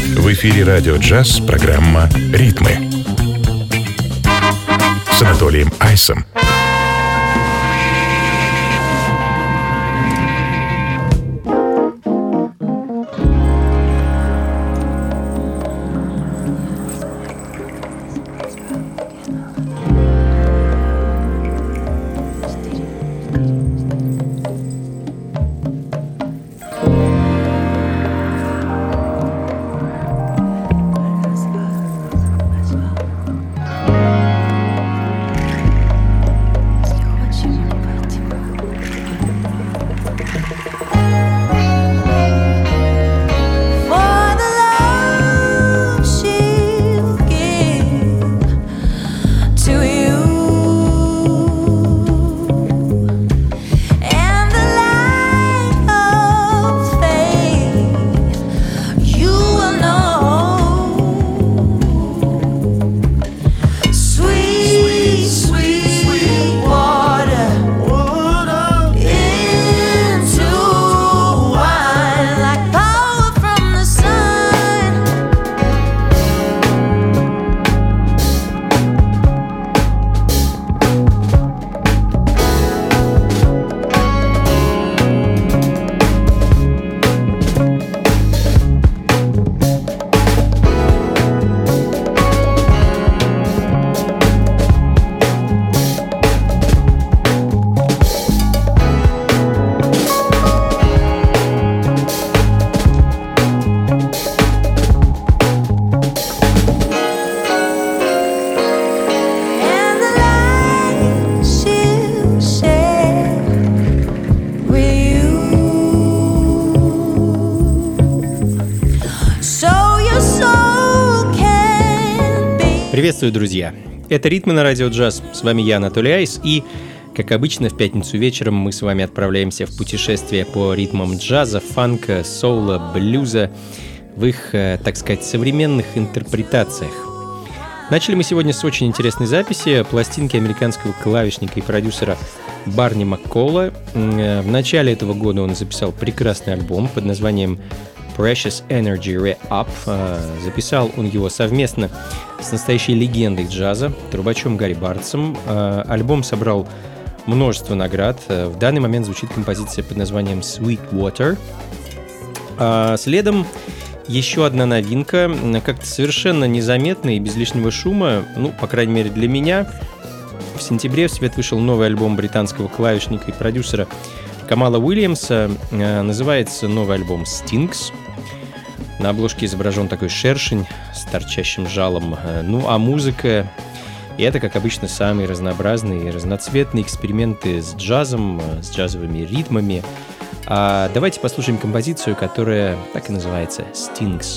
В эфире радио «Джаз» программа «Ритмы» с Анатолием Айсом. Приветствую, друзья! Это «Ритмы» на радио «Джаз». С вами я, Анатолий Айс, и, как обычно, в пятницу вечером мы с вами отправляемся в путешествие по ритмам джаза, фанка, соула, блюза в их, так сказать, современных интерпретациях. Начали мы сегодня с очень интересной записи пластинки американского клавишника и продюсера Барни Маккола. В начале этого года он записал прекрасный альбом под названием Precious Energy Re-Up. Записал он его совместно с настоящей легендой джаза, трубачом Гарри Бартсом. Альбом собрал множество наград. В данный момент звучит композиция под названием Sweet Water. Следом еще одна новинка, как-то совершенно незаметная и без лишнего шума, по крайней мере для меня. В сентябре в свет вышел новый альбом британского клавишника и продюсера Камала Уильямса. Называется новый альбом Stings. На обложке изображен такой шершень с торчащим жалом. А музыка — это, как обычно, самые разнообразные и разноцветные эксперименты с джазом, с джазовыми ритмами. Давайте послушаем композицию, которая так и называется «Stings».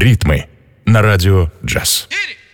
«Ритмы» на радио «Джаз».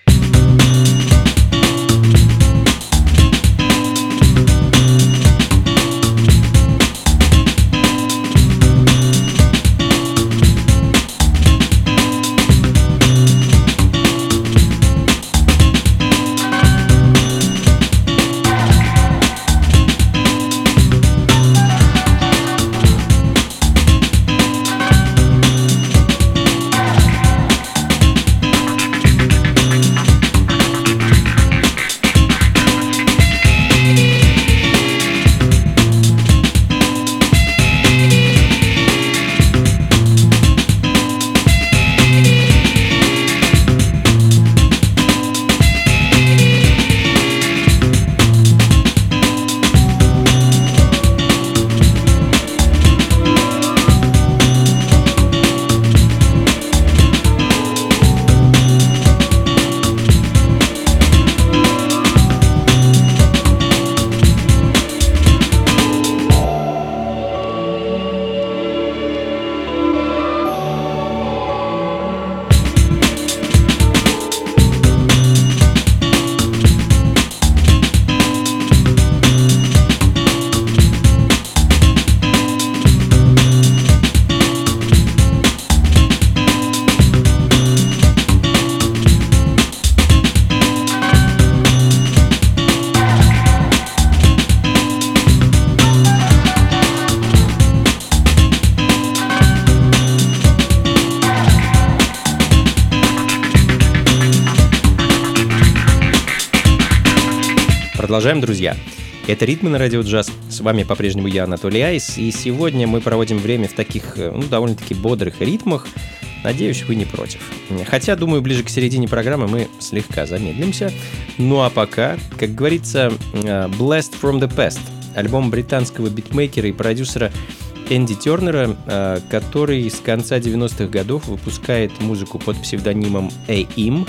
Продолжаем, друзья. Это «Ритмы» на радио «Джаз». С вами по-прежнему я, Анатолий Айс. И сегодня мы проводим время в таких, довольно-таки бодрых ритмах. Надеюсь, вы не против. Хотя, думаю, ближе к середине программы мы слегка замедлимся. Ну а пока, как говорится, «Blast from the Past» — альбом британского битмейкера и продюсера Энди Тернера, который с конца 90-х годов выпускает музыку под псевдонимом AIM.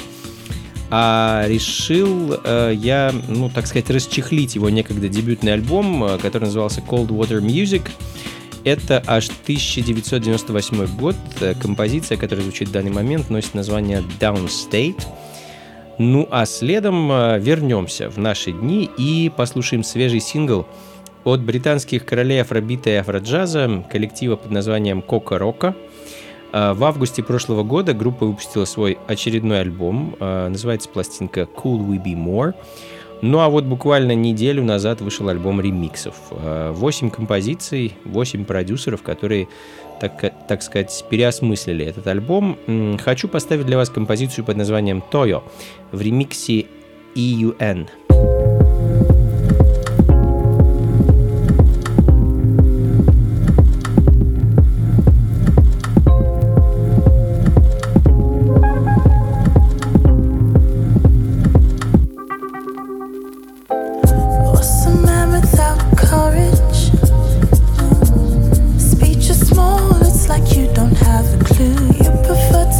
А решил я, так сказать, расчехлить его некогда дебютный альбом, который назывался Cold Water Music. Это аж 1998 год. Композиция, которая звучит в данный момент, носит название Downstate. Ну а следом вернемся в наши дни и послушаем свежий сингл от британских королей афробита и афроджаза, коллектива под названием Кока Рока. В августе прошлого года группа выпустила свой очередной альбом, называется пластинка Could We Be More. Ну а вот буквально неделю назад вышел альбом ремиксов. 8 композиций, 8 продюсеров, которые, так сказать, переосмыслили этот альбом. Хочу поставить для вас композицию под названием Toyo в ремиксе EUN.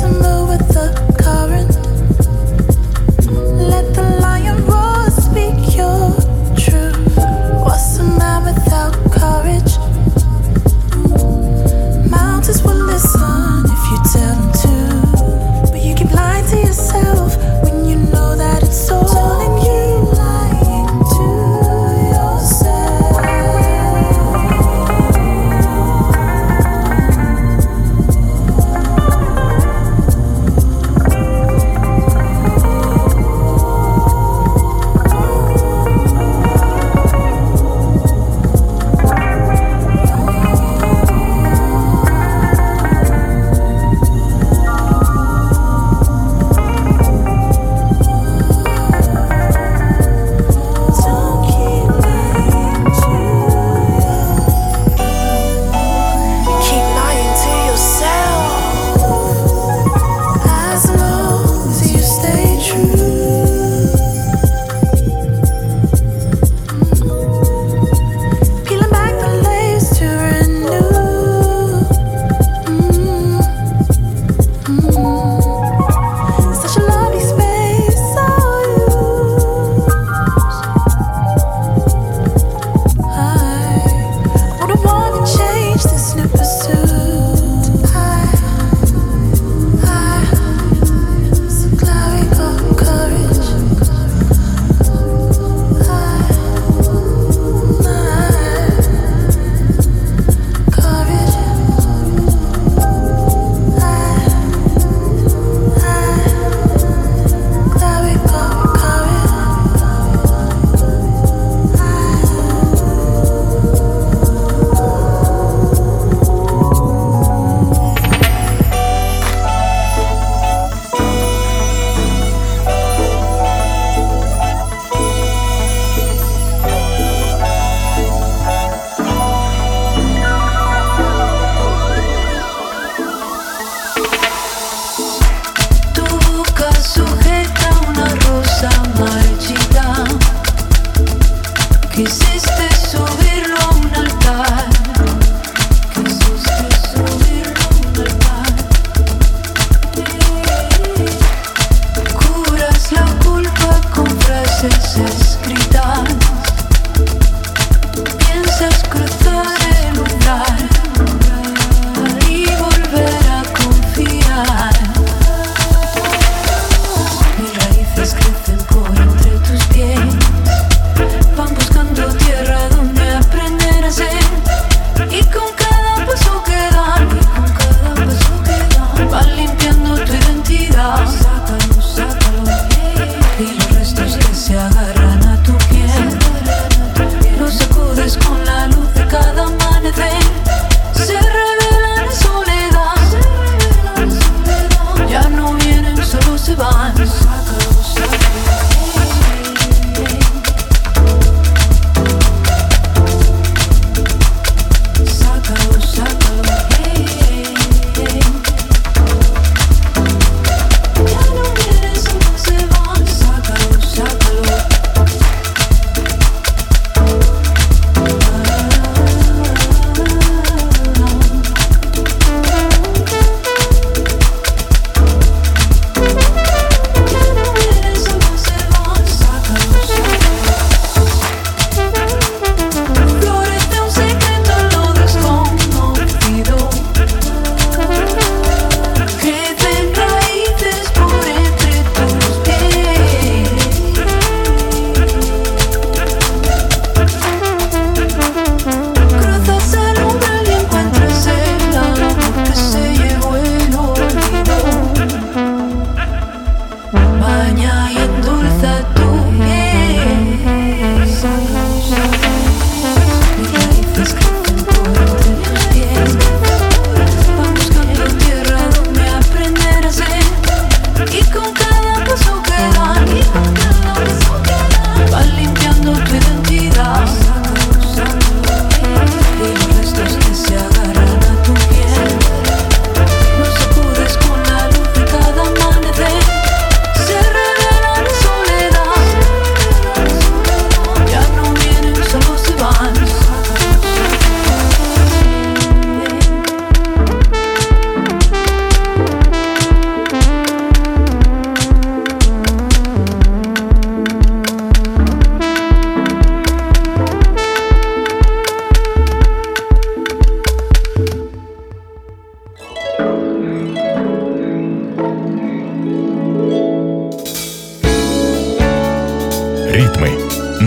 Let the lion roar, speak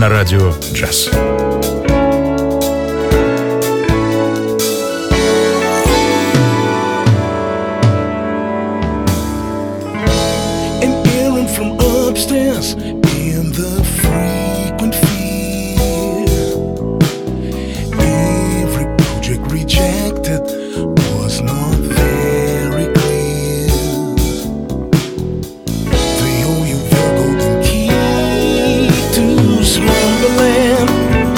на радио «Джаз». Upstairs in the frequent fear, every project rejected was not very clear. They owe you the golden key to Slumberland,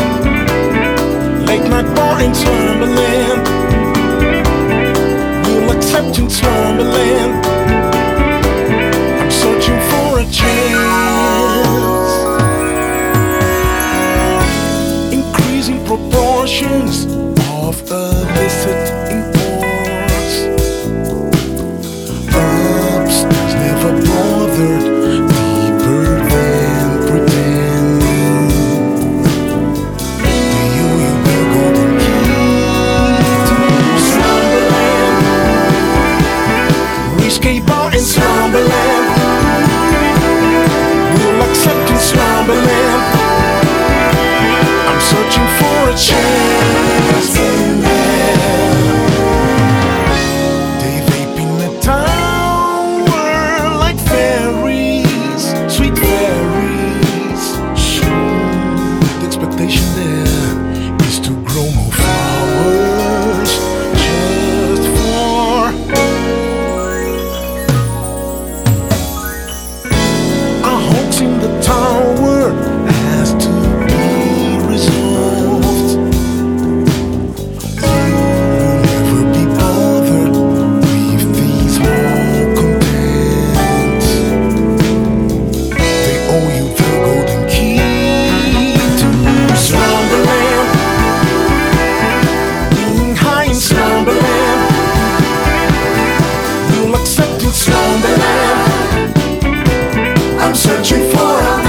late night bar in Slumberland. We'll accept in Slumberland. Searching for a chance, increasing proportions of illicit imports. Upstairs never bothered, deeper than pretending. They owe you the golden key to Slumberland, risque bar in Slumberland. Accepting Slumberland. I'm searching for a chance in there. They vaping the tower like fairies, sweet fairies. Soon the expectation there is to grow more flowers just for in the tower has to be resolved. You'll never be bothered with these malcontents. They owe you the golden key to Slumberland, being high in Slumberland. You'll accept in Slumberland. I'm searching for a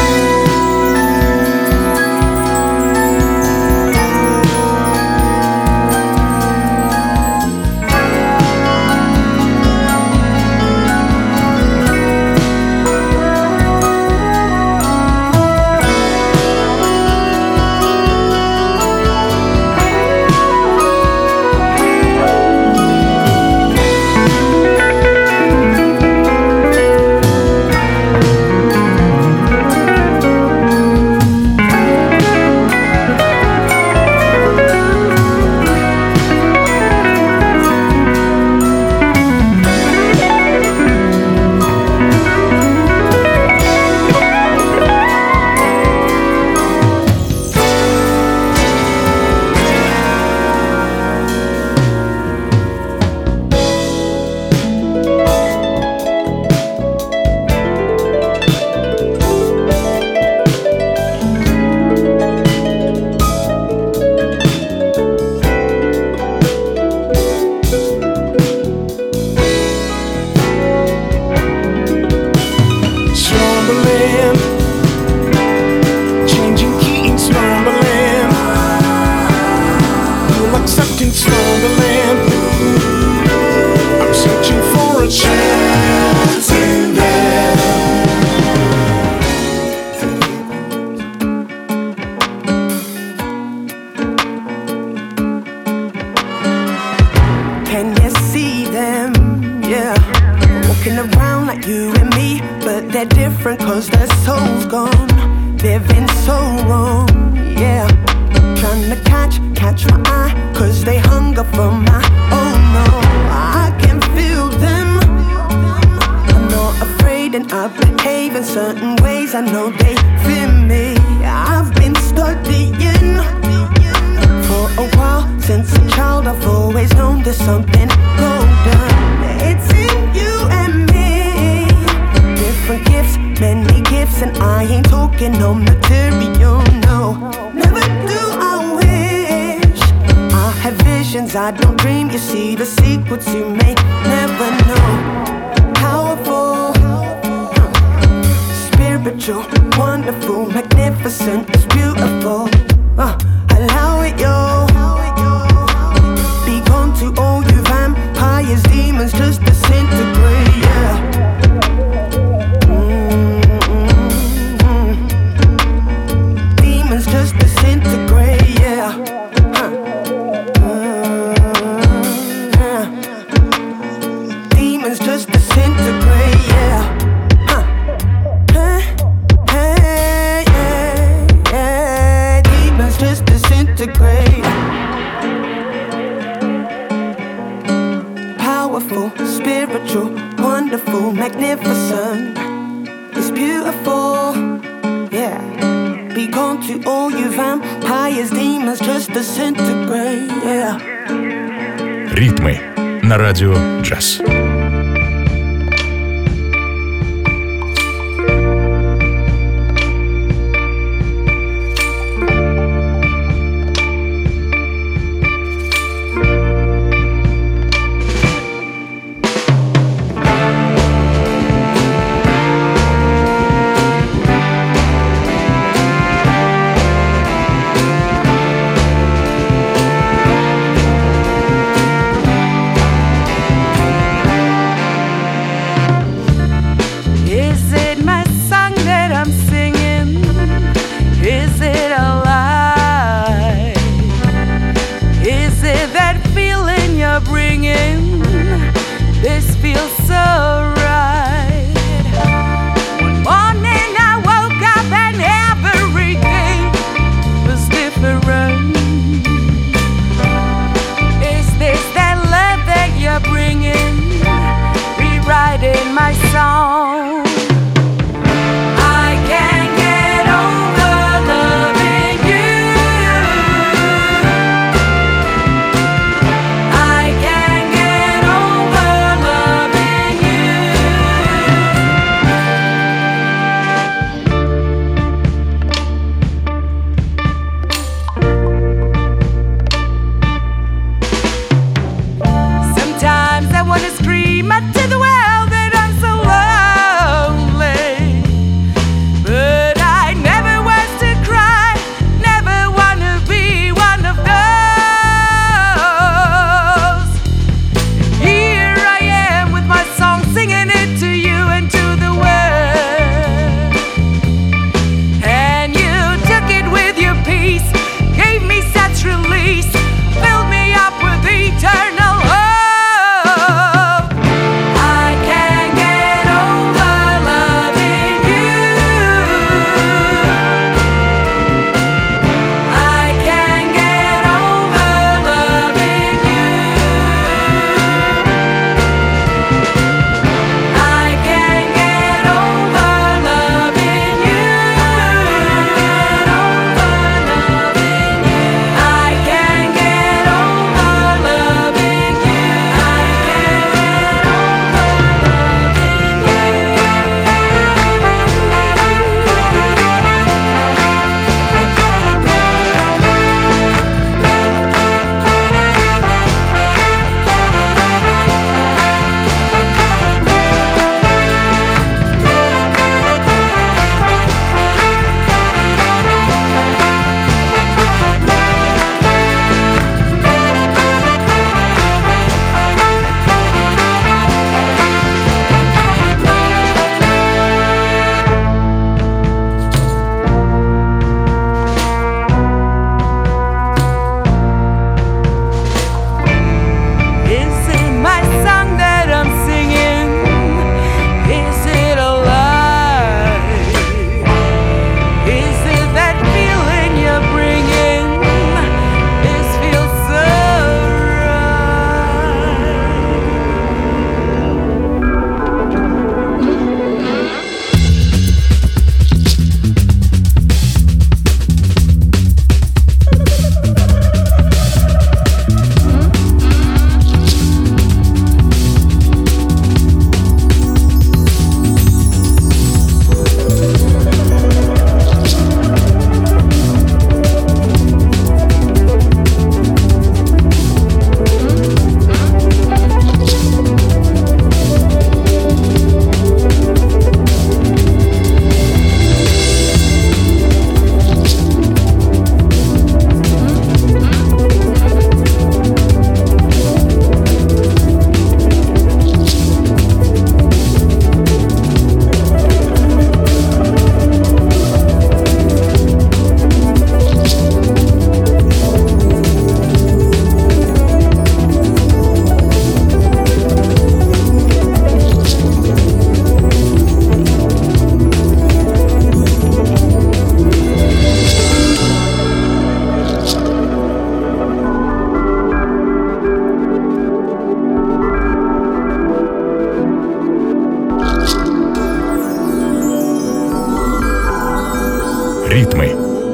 I don't dream, you see the secrets you may never know. Powerful, spiritual, wonderful, magnificent, it's beautiful. Allow it, yo. Be gone to all you vampires, demons, just disintegrate, yeah. wonderful, magnificent. It's beautiful, yeah. Be gone to all you vampires, demons, just disintegrate, yeah. Ритмы на радио «Джаз». I can't get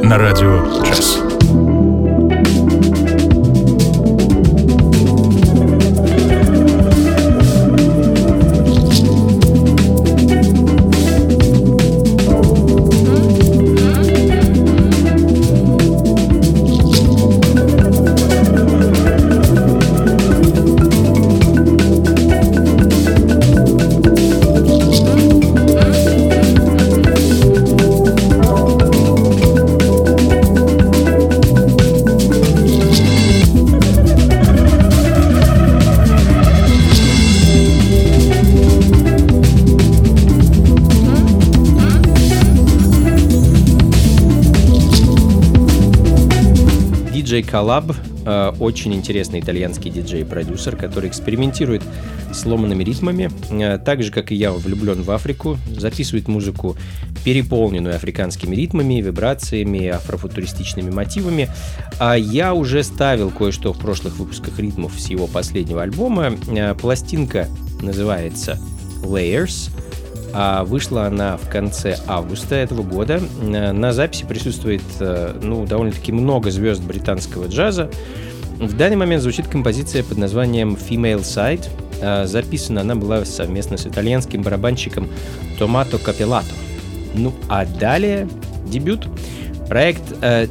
на радио «Джаз». Диджей Коллаб, очень интересный итальянский диджей-продюсер, который экспериментирует с ломаными ритмами, так же, как и я, влюблен в Африку, записывает музыку, переполненную африканскими ритмами, вибрациями, афрофутуристичными мотивами. Я уже ставил кое-что в прошлых выпусках ритмов с его последнего альбома. Пластинка называется Layers. Вышла она в конце августа этого года. На записи присутствует довольно-таки много звезд британского джаза. В данный момент звучит композиция под названием Female Side. Записана она была совместно с итальянским барабанщиком Томато Капеллато. А далее дебют. Проект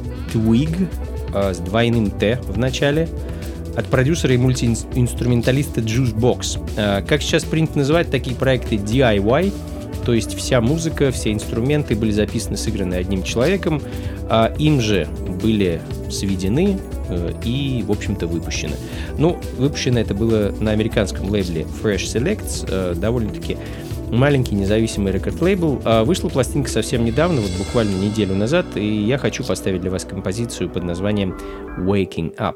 Twig с двойным Т в начале от продюсера и мультиинструменталиста Juicebox. Как сейчас принято называть такие проекты DIY, то есть вся музыка, все инструменты были записаны, сыграны одним человеком, им же были сведены и, в общем-то, выпущены. Выпущено это было на американском лейбле Fresh Selects, довольно-таки маленький независимый рекорд-лейбл. Вышла пластинка совсем недавно, буквально неделю назад, и я хочу поставить для вас композицию под названием Waking Up.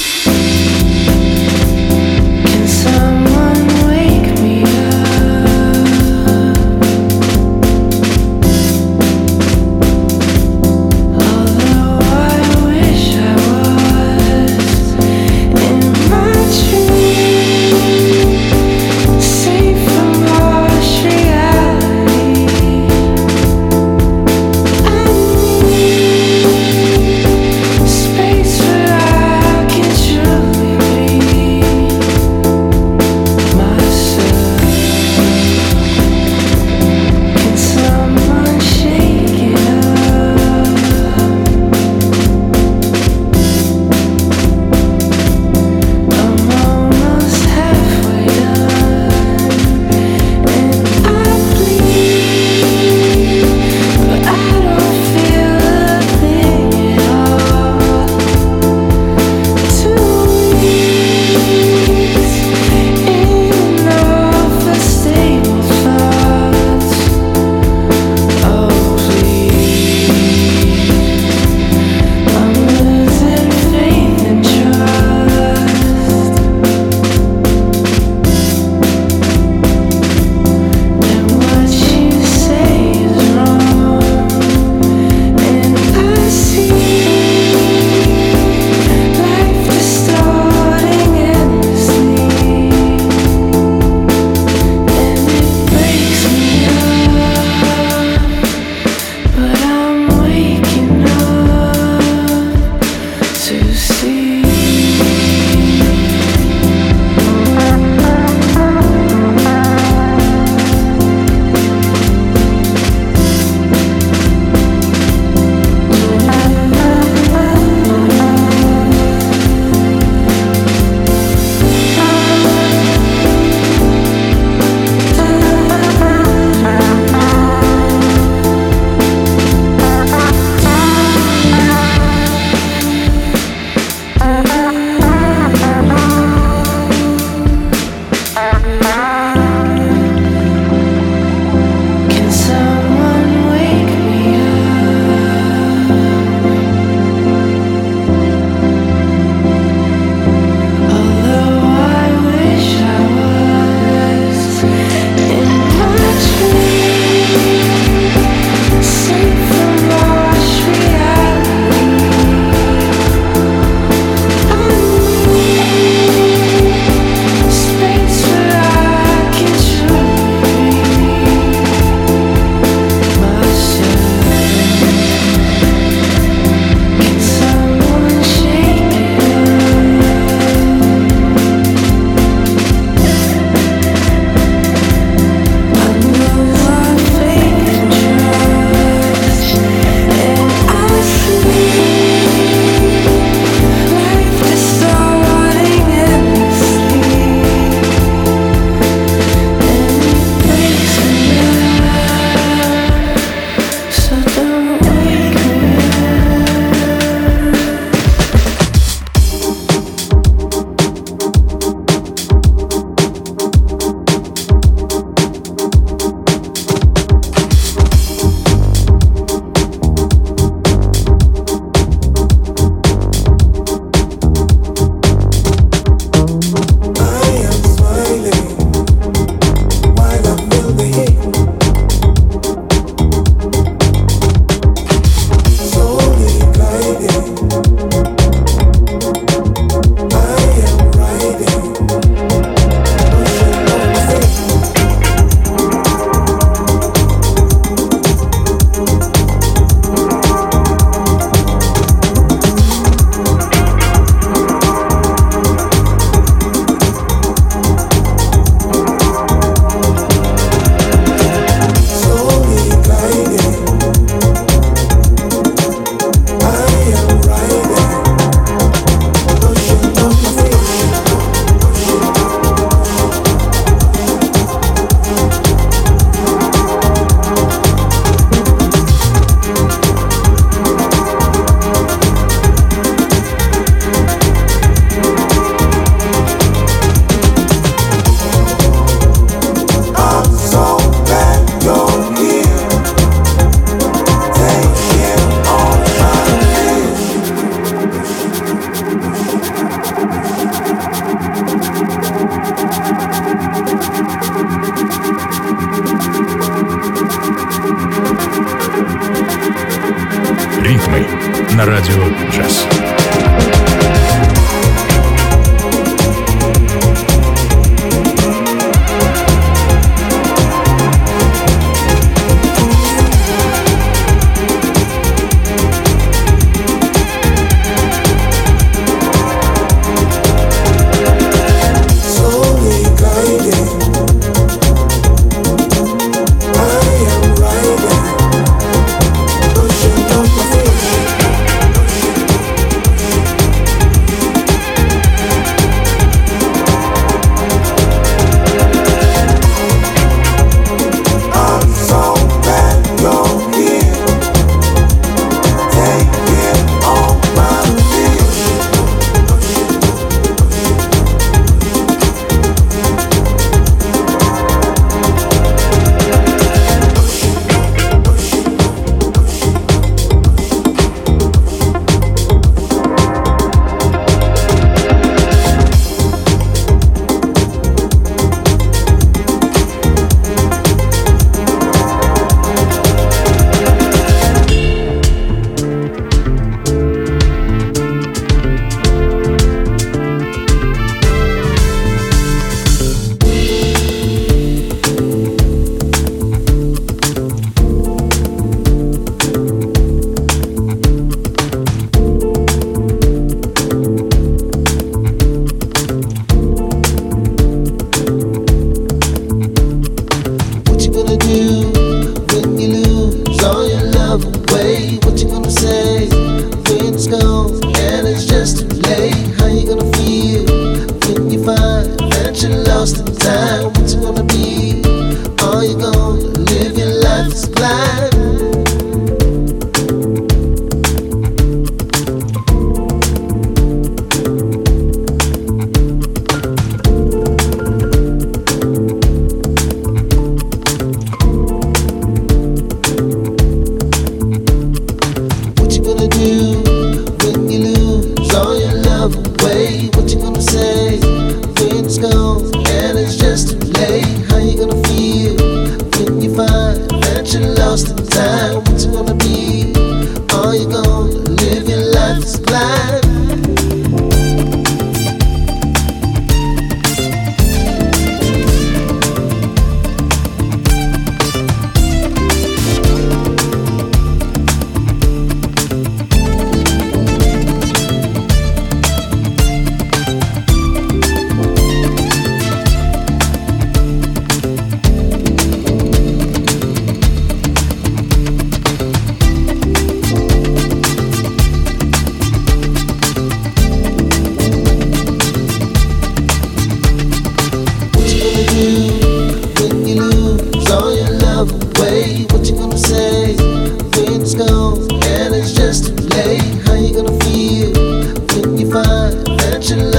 Can someone wake me up? Although I wish I was in my dream, safe from harsh reality. I need space where I can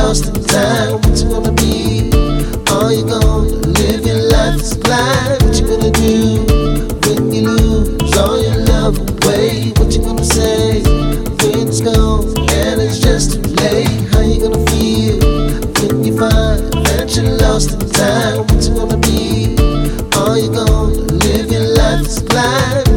lost in time. What you gonna be? Are you gonna live your life as blind? What you gonna do when you lose all your love away? What you gonna say when it's gone and it's just too late? How you gonna feel when you find that you're lost in time? What you gonna be? Are you gonna live your life as blind?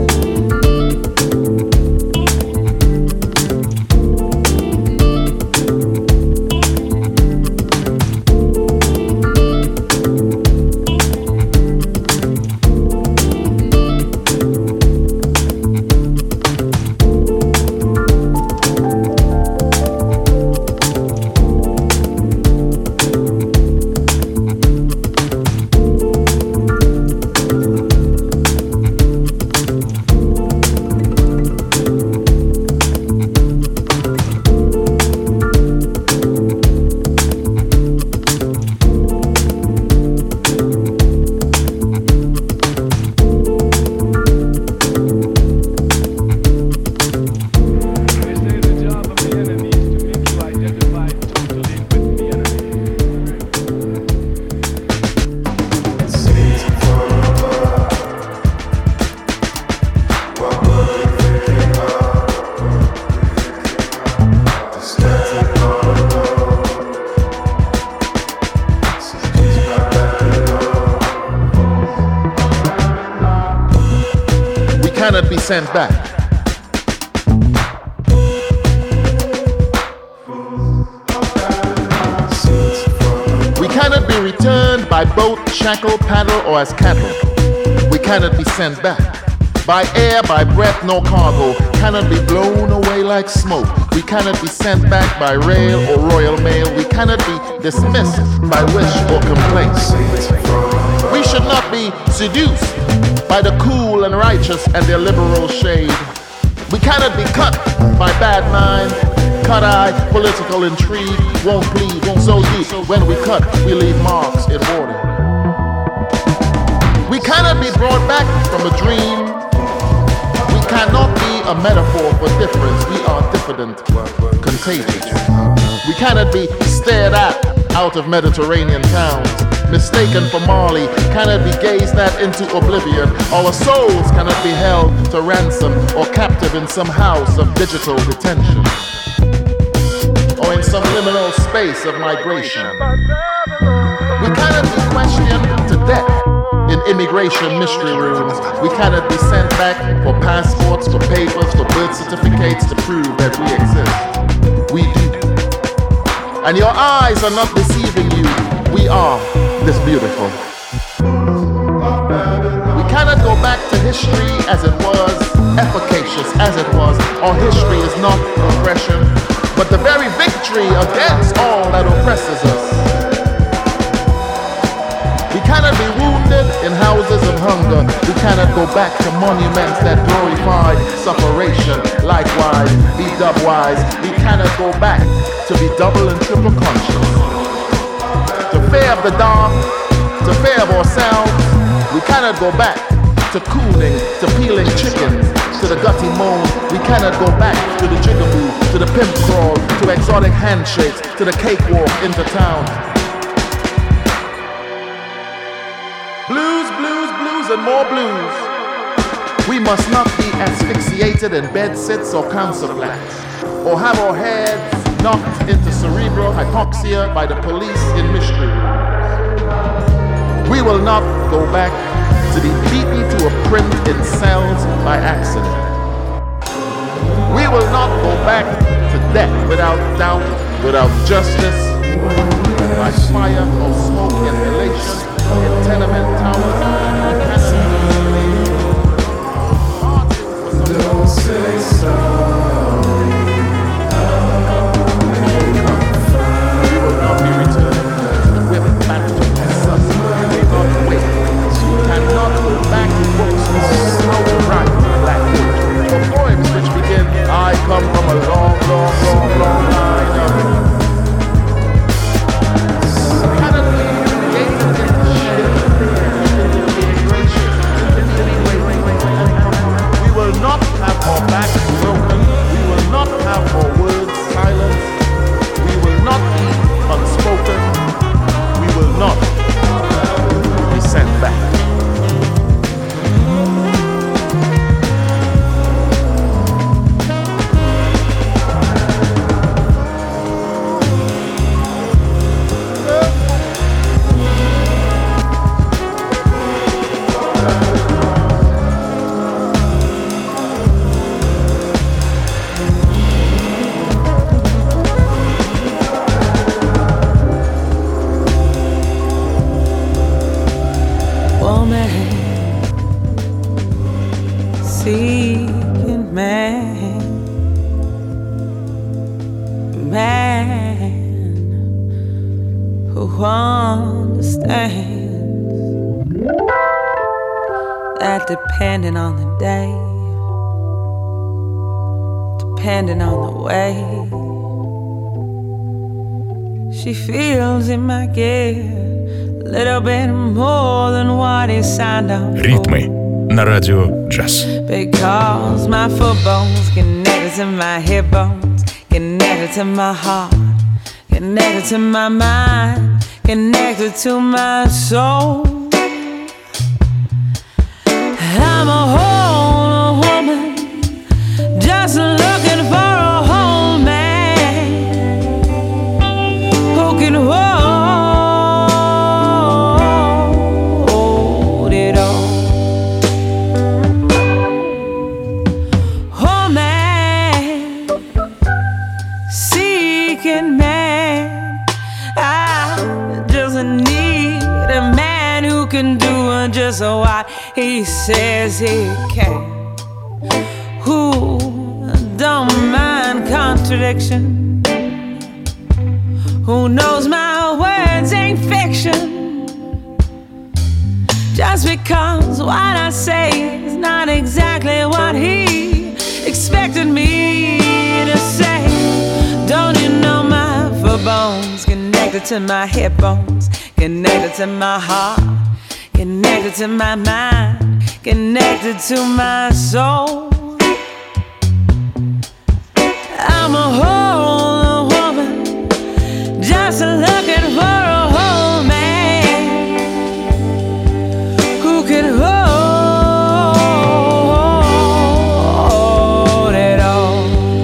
Sent back. We cannot be returned by boat, shackle, paddle, or as cattle. We cannot be sent back. By air, by breath, no cargo. Cannot be blown away like smoke. We cannot be sent back by rail or royal mail. We cannot be dismissed by wish or complaint. We should not be seduced by the cool and righteous and their liberal shade. We cannot be cut by bad mind, cut eye, political intrigue, won't plead, won't so deep. When we cut, we leave marks in water. We cannot be brought back from a dream. We cannot be a metaphor for difference. We are diffident, contagious. We cannot be stared at out of Mediterranean towns, mistaken for Marley, cannot be gazed at into oblivion. Our souls cannot be held to ransom or captive in some house of digital detention, or in some liminal space of migration. We cannot be questioned to death in immigration mystery rooms. We cannot be sent back for passports, for papers, for birth certificates to prove that we exist. We do. And your eyes are not deceiving you. We are this beautiful. We cannot go back to history as it was, efficacious as it was. Our history is not oppression, but the very victory against all that oppresses us. We cannot be wounded in houses of hunger. We cannot go back to monuments that glorify sufferation. Likewise, be dub-wise. We cannot go back to be double and triple conscious. To fear of the dark, to fear of ourselves. We cannot go back to cooling, to peeling chickens, to the gutty moan. We cannot go back to the jigaboo, to the pimp crawl, to exotic handshakes, to the cakewalk into town. Blues, blues, blues, and more blues. We must not be asphyxiated in bed sits or council flats, or have our heads knocked into cerebral hypoxia by the police in mystery rooms. We will not go back to be beaten to a print in cells by accident. We will not go back to death without doubt, without justice, by fire or smoke inhalation in tenement towers. Don't say sorry. We will not be returned. We're back to us. We will not wait. You cannot go back to books how to write black poetry. For poems which begin, I come from a long, long, long, long line of cannot be created in shit. who understands that depending on the day, depending on the way, she feels it might get a little bit more than what he signed up for. Ритмы на радио Джаз. Because my foot bones connected to my hip bones, connected to my heart, connected to my mind, connected to my soul. I'm a whole woman, just looking for a whole man who can hold it all. Oh man, seeking man, I just need a man who can do just what he says he can, who don't mind contradiction, who knows my words ain't fiction, just because what I say is not exactly what he expected me to say. Don't you know my foot bones connected to my hip bones, connected to my heart, connected to my mind, connected to my soul. I'm a whole woman, just looking for a whole man who can hold it all.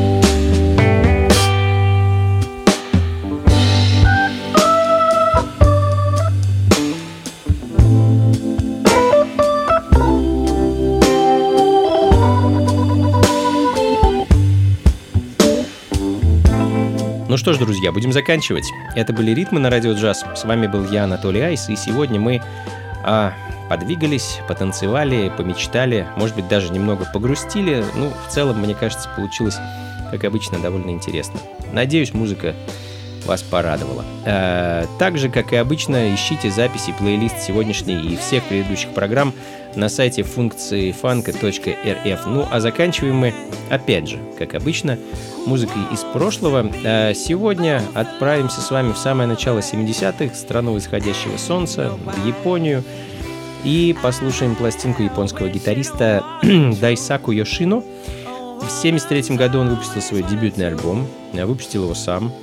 Ну что ж, друзья, будем заканчивать. Это были «Ритмы» на радио Джаз. С вами был я, Анатолий Айс, и сегодня мы подвигались, потанцевали, помечтали, может быть, даже немного погрустили. Ну, в целом, мне кажется, получилось, как обычно, довольно интересно. Надеюсь, музыка вас порадовала. Так же, как и обычно, ищите записи, плейлист сегодняшней и всех предыдущих программ на сайте функции funk.rf. Ну, а заканчиваем мы, опять же, как обычно, музыкой из прошлого. Сегодня отправимся с вами в самое начало 70-х, страну восходящего солнца, в Японию, и послушаем пластинку японского гитариста Дайсаку Йошино. В 1973 году он выпустил свой дебютный альбом, выпустил его сам.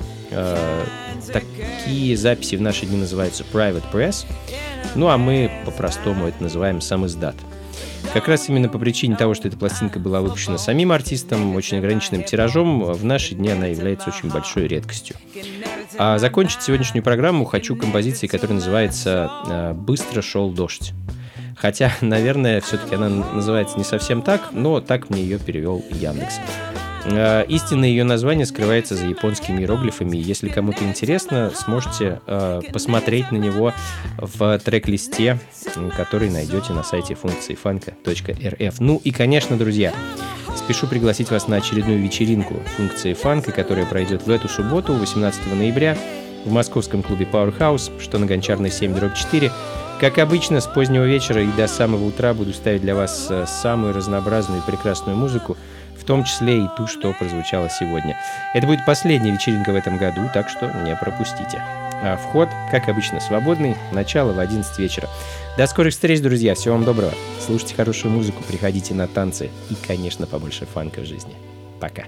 Такие записи в наши дни называются Private Press, ну а мы по-простому это называем самиздат. Как раз именно по причине того, что эта пластинка была выпущена самим артистом, очень ограниченным тиражом, в наши дни она является очень большой редкостью. А закончить сегодняшнюю программу хочу композицией, которая называется «Быстро шел дождь». Хотя, наверное, все-таки она называется не совсем так, но так мне ее перевел Яндекс. Истинное ее название скрывается за японскими иероглифами. Если кому-то интересно, сможете посмотреть на него в трек-листе, который найдете на сайте функции funk.rf. Ну и, конечно, друзья, спешу пригласить вас на очередную вечеринку функции фанка, которая пройдет в эту субботу, 18 ноября, в московском клубе Powerhouse, что на Гончарной 7/4. Как обычно, с позднего вечера и до самого утра буду ставить для вас самую разнообразную и прекрасную музыку, в том числе и ту, что прозвучало сегодня. Это будет последняя вечеринка в этом году, так что не пропустите. А вход, как обычно, свободный, начало в 11 вечера. До скорых встреч, друзья, всего вам доброго. Слушайте хорошую музыку, приходите на танцы и, конечно, побольше фанка в жизни. Пока.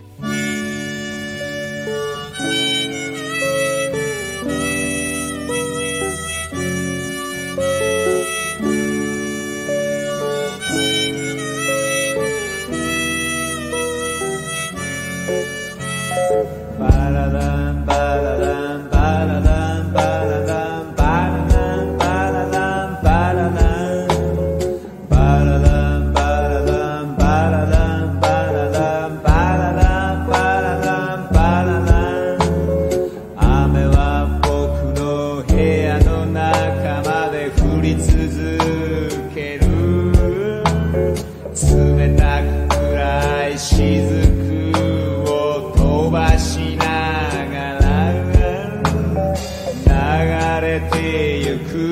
てゆく